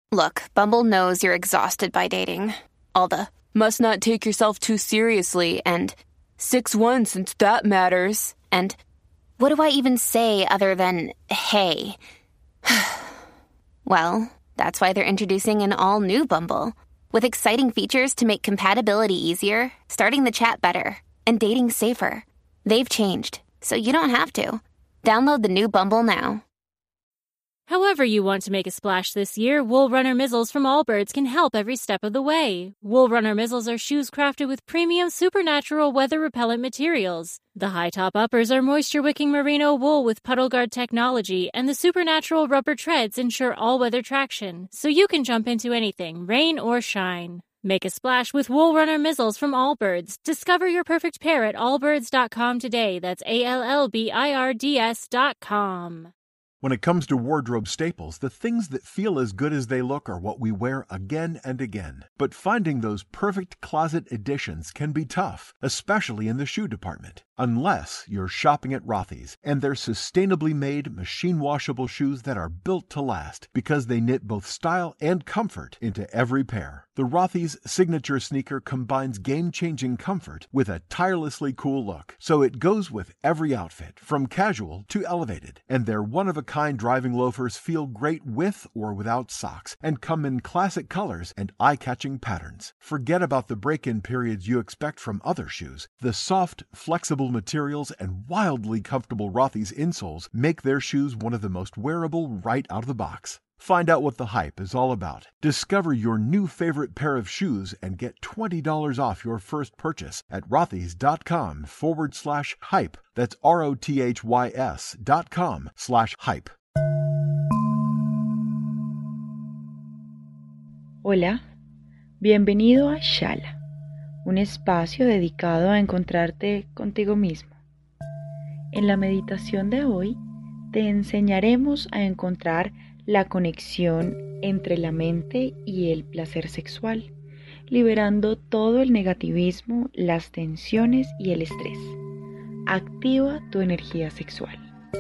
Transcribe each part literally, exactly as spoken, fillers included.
Look, Bumble knows you're exhausted by dating. All the, must not take yourself too seriously, and six one since that matters, and what do I even say other than, hey? Well, that's why they're introducing an all-new Bumble, with exciting features to make compatibility easier, starting the chat better, and dating safer. They've changed, so you don't have to. Download the new Bumble now. However you want to make a splash this year, Wool Runner Mizzles from Allbirds can help every step of the way. Wool Runner Mizzles are shoes crafted with premium supernatural weather-repellent materials. The high top uppers are moisture-wicking merino wool with puddle guard technology, and the supernatural rubber treads ensure all-weather traction, so you can jump into anything, rain or shine. Make a splash with Wool Runner Mizzles from Allbirds. Discover your perfect pair at allbirds dot com today. That's A L L B I R D S dot com. When it comes to wardrobe staples, the things that feel as good as they look are what we wear again and again. But finding those perfect closet additions can be tough, especially in the shoe department. Unless you're shopping at Rothy's and their sustainably made, machine-washable shoes that are built to last because they knit both style and comfort into every pair. The Rothy's signature sneaker combines game-changing comfort with a tirelessly cool look, so it goes with every outfit, from casual to elevated. And their one-of-a-kind driving loafers feel great with or without socks and come in classic colors and eye-catching patterns. Forget about the break-in periods you expect from other shoes. The soft, flexible materials and wildly comfortable Rothy's insoles make their shoes one of the most wearable right out of the box. Find out what the hype is all about. Discover your new favorite pair of shoes and get twenty dollars off your first purchase at rothys.com forward slash hype. That's R-O-T-H-Y-S dot com slash hype. Hola, bienvenido a Shala, un espacio dedicado a encontrarte contigo mismo. En la meditación de hoy te enseñaremos a encontrar la conexión entre la mente y el placer sexual, liberando todo el negativismo, las tensiones y el estrés. Activa tu energía sexual.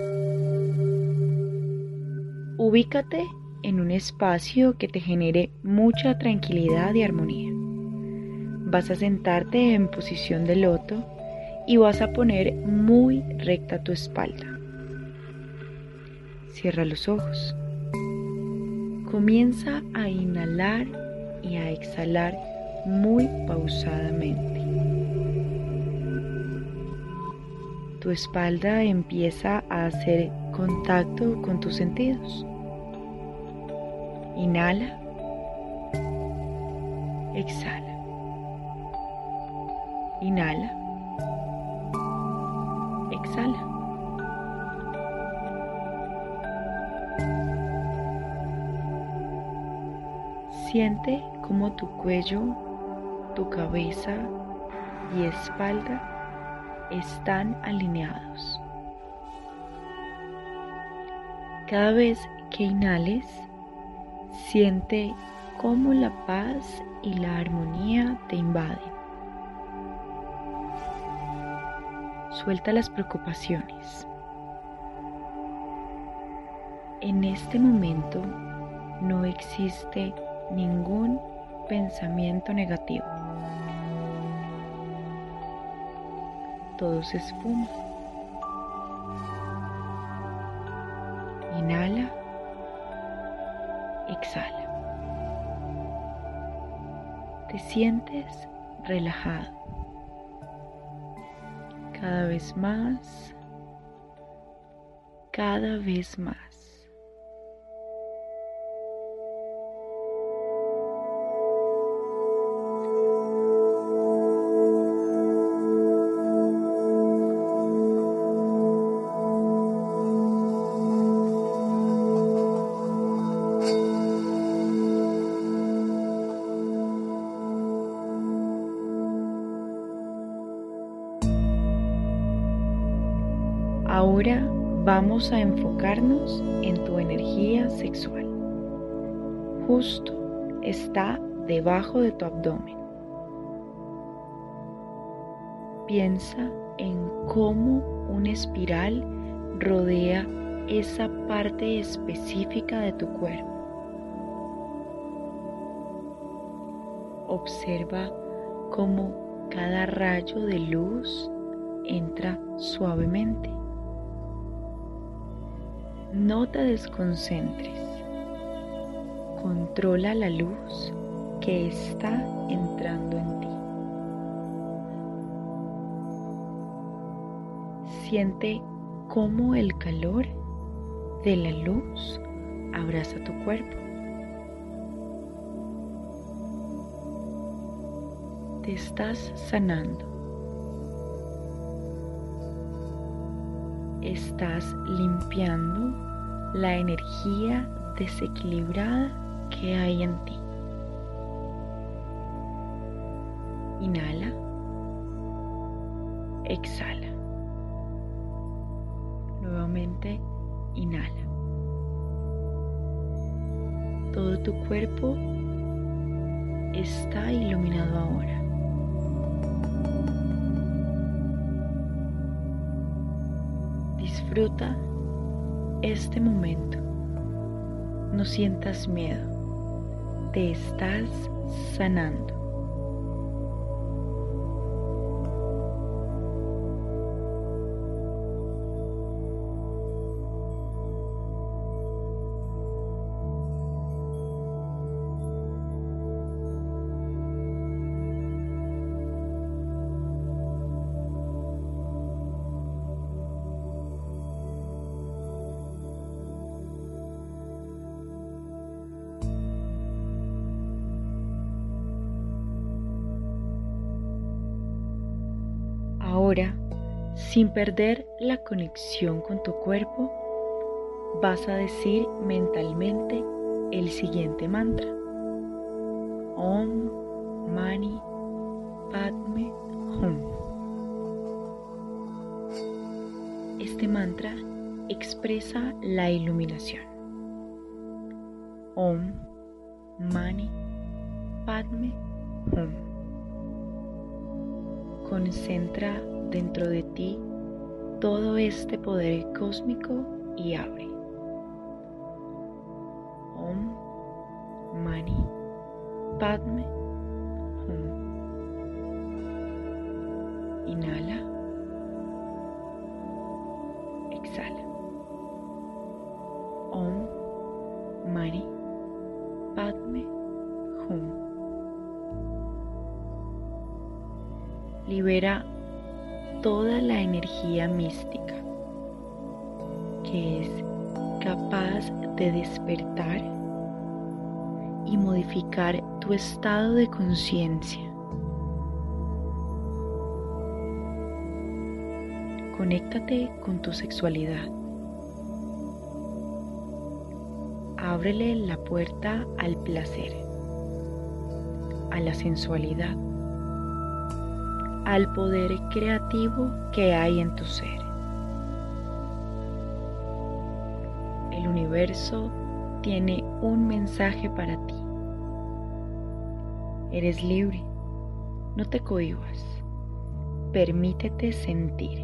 Ubícate en un espacio que te genere mucha tranquilidad y armonía. Vas a sentarte en posición de loto y vas a poner muy recta tu espalda. Cierra los ojos. Comienza a inhalar y a exhalar muy pausadamente. Tu espalda empieza a hacer contacto con tus sentidos. Inhala. Exhala. Inhala. Exhala. Siente cómo tu cuello, tu cabeza y espalda están alineados. Cada vez que inhales, siente cómo la paz y la armonía te invaden. Suelta las preocupaciones. En este momento no existe ningún pensamiento negativo. Todo se esfuma. Inhala. Exhala. Te sientes relajado. Cada vez más. Cada vez más. Ahora vamos a enfocarnos en tu energía sexual. Justo está debajo de tu abdomen. Piensa en cómo una espiral rodea esa parte específica de tu cuerpo. Observa cómo cada rayo de luz entra suavemente. No te desconcentres. Controla la luz que está entrando en ti. Siente cómo el calor de la luz abraza tu cuerpo. Te estás sanando. Estás limpiando la energía desequilibrada que hay en ti. Inhala. Exhala. Nuevamente, inhala. Todo tu cuerpo está iluminado ahora. Disfruta este momento. No sientas miedo. Te estás sanando. Ahora, sin perder la conexión con tu cuerpo, vas a decir mentalmente el siguiente mantra. Om Mani Padme Hum. Este mantra expresa la iluminación. Om Mani Padme Hum. Concentra dentro de ti todo este poder cósmico y abre. Om Mani Padme Hum. Inhala. Exhala. Om Mani Padme Hum. Libera toda la energía mística que es capaz de despertar y modificar tu estado de conciencia. Conéctate con tu sexualidad. Ábrele la puerta al placer, a la sensualidad, al poder creativo que hay en tu ser. El universo tiene un mensaje para ti. Eres libre, no te cohibas, permítete sentir.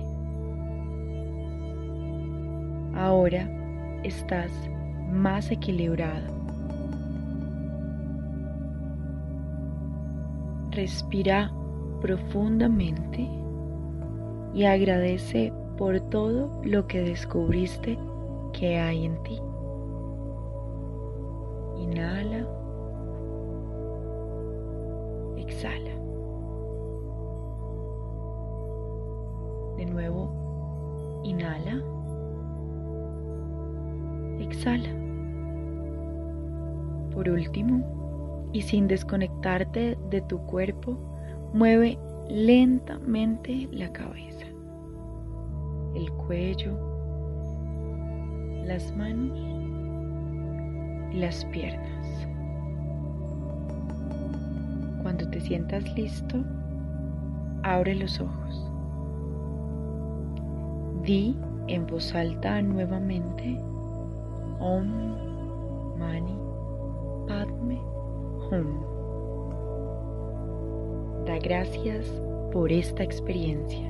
Ahora estás más equilibrado. Respira profundamente y agradece por todo lo que descubriste que hay en ti. Inhala. Exhala. De nuevo, inhala. Exhala. Por último, y sin desconectarte de tu cuerpo, mueve lentamente la cabeza, el cuello, las manos y las piernas. Cuando te sientas listo, abre los ojos. Di en voz alta nuevamente Om Mani Padme Hum. Da gracias por esta experiencia.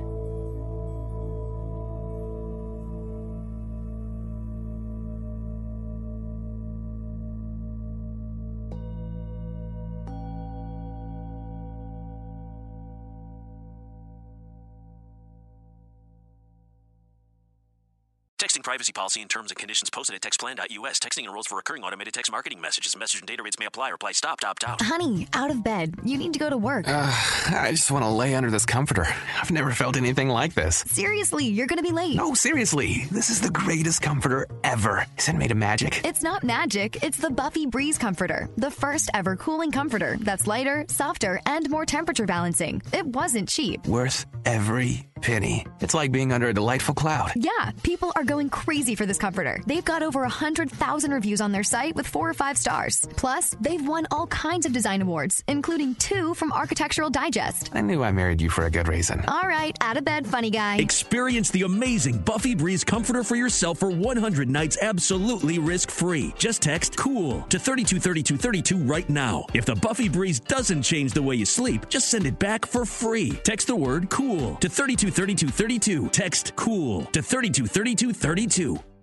Texting privacy policy and terms and conditions posted at text plan dot U S. Texting enrolls for recurring automated text marketing messages. Message and data rates may apply. Reply stop, opt out. Honey, out of bed. You need to go to work. Uh, I just want to lay under this comforter. I've never felt anything like this. Seriously, you're going to be late. No, seriously. This is the greatest comforter ever. Is it made of magic? It's not magic. It's the Buffy Breeze Comforter. The first ever cooling comforter that's lighter, softer, and more temperature balancing. It wasn't cheap. Worth every penny. It's like being under a delightful cloud. Yeah, people are going crazy for this comforter. They've got over one hundred thousand reviews on their site with four or five stars. Plus, they've won all kinds of design awards, including two from Architectural Digest. I knew I married you for a good reason. All right, out of bed, funny guy. Experience the amazing Buffy Breeze comforter for yourself for one hundred nights absolutely risk-free. Just text COOL to thirty-two thirty-two thirty-two right now. If the Buffy Breeze doesn't change the way you sleep, just send it back for free. Text the word COOL to thirty-two thirty-two thirty-two. Text COOL to thirty-two thirty-two thirty-two.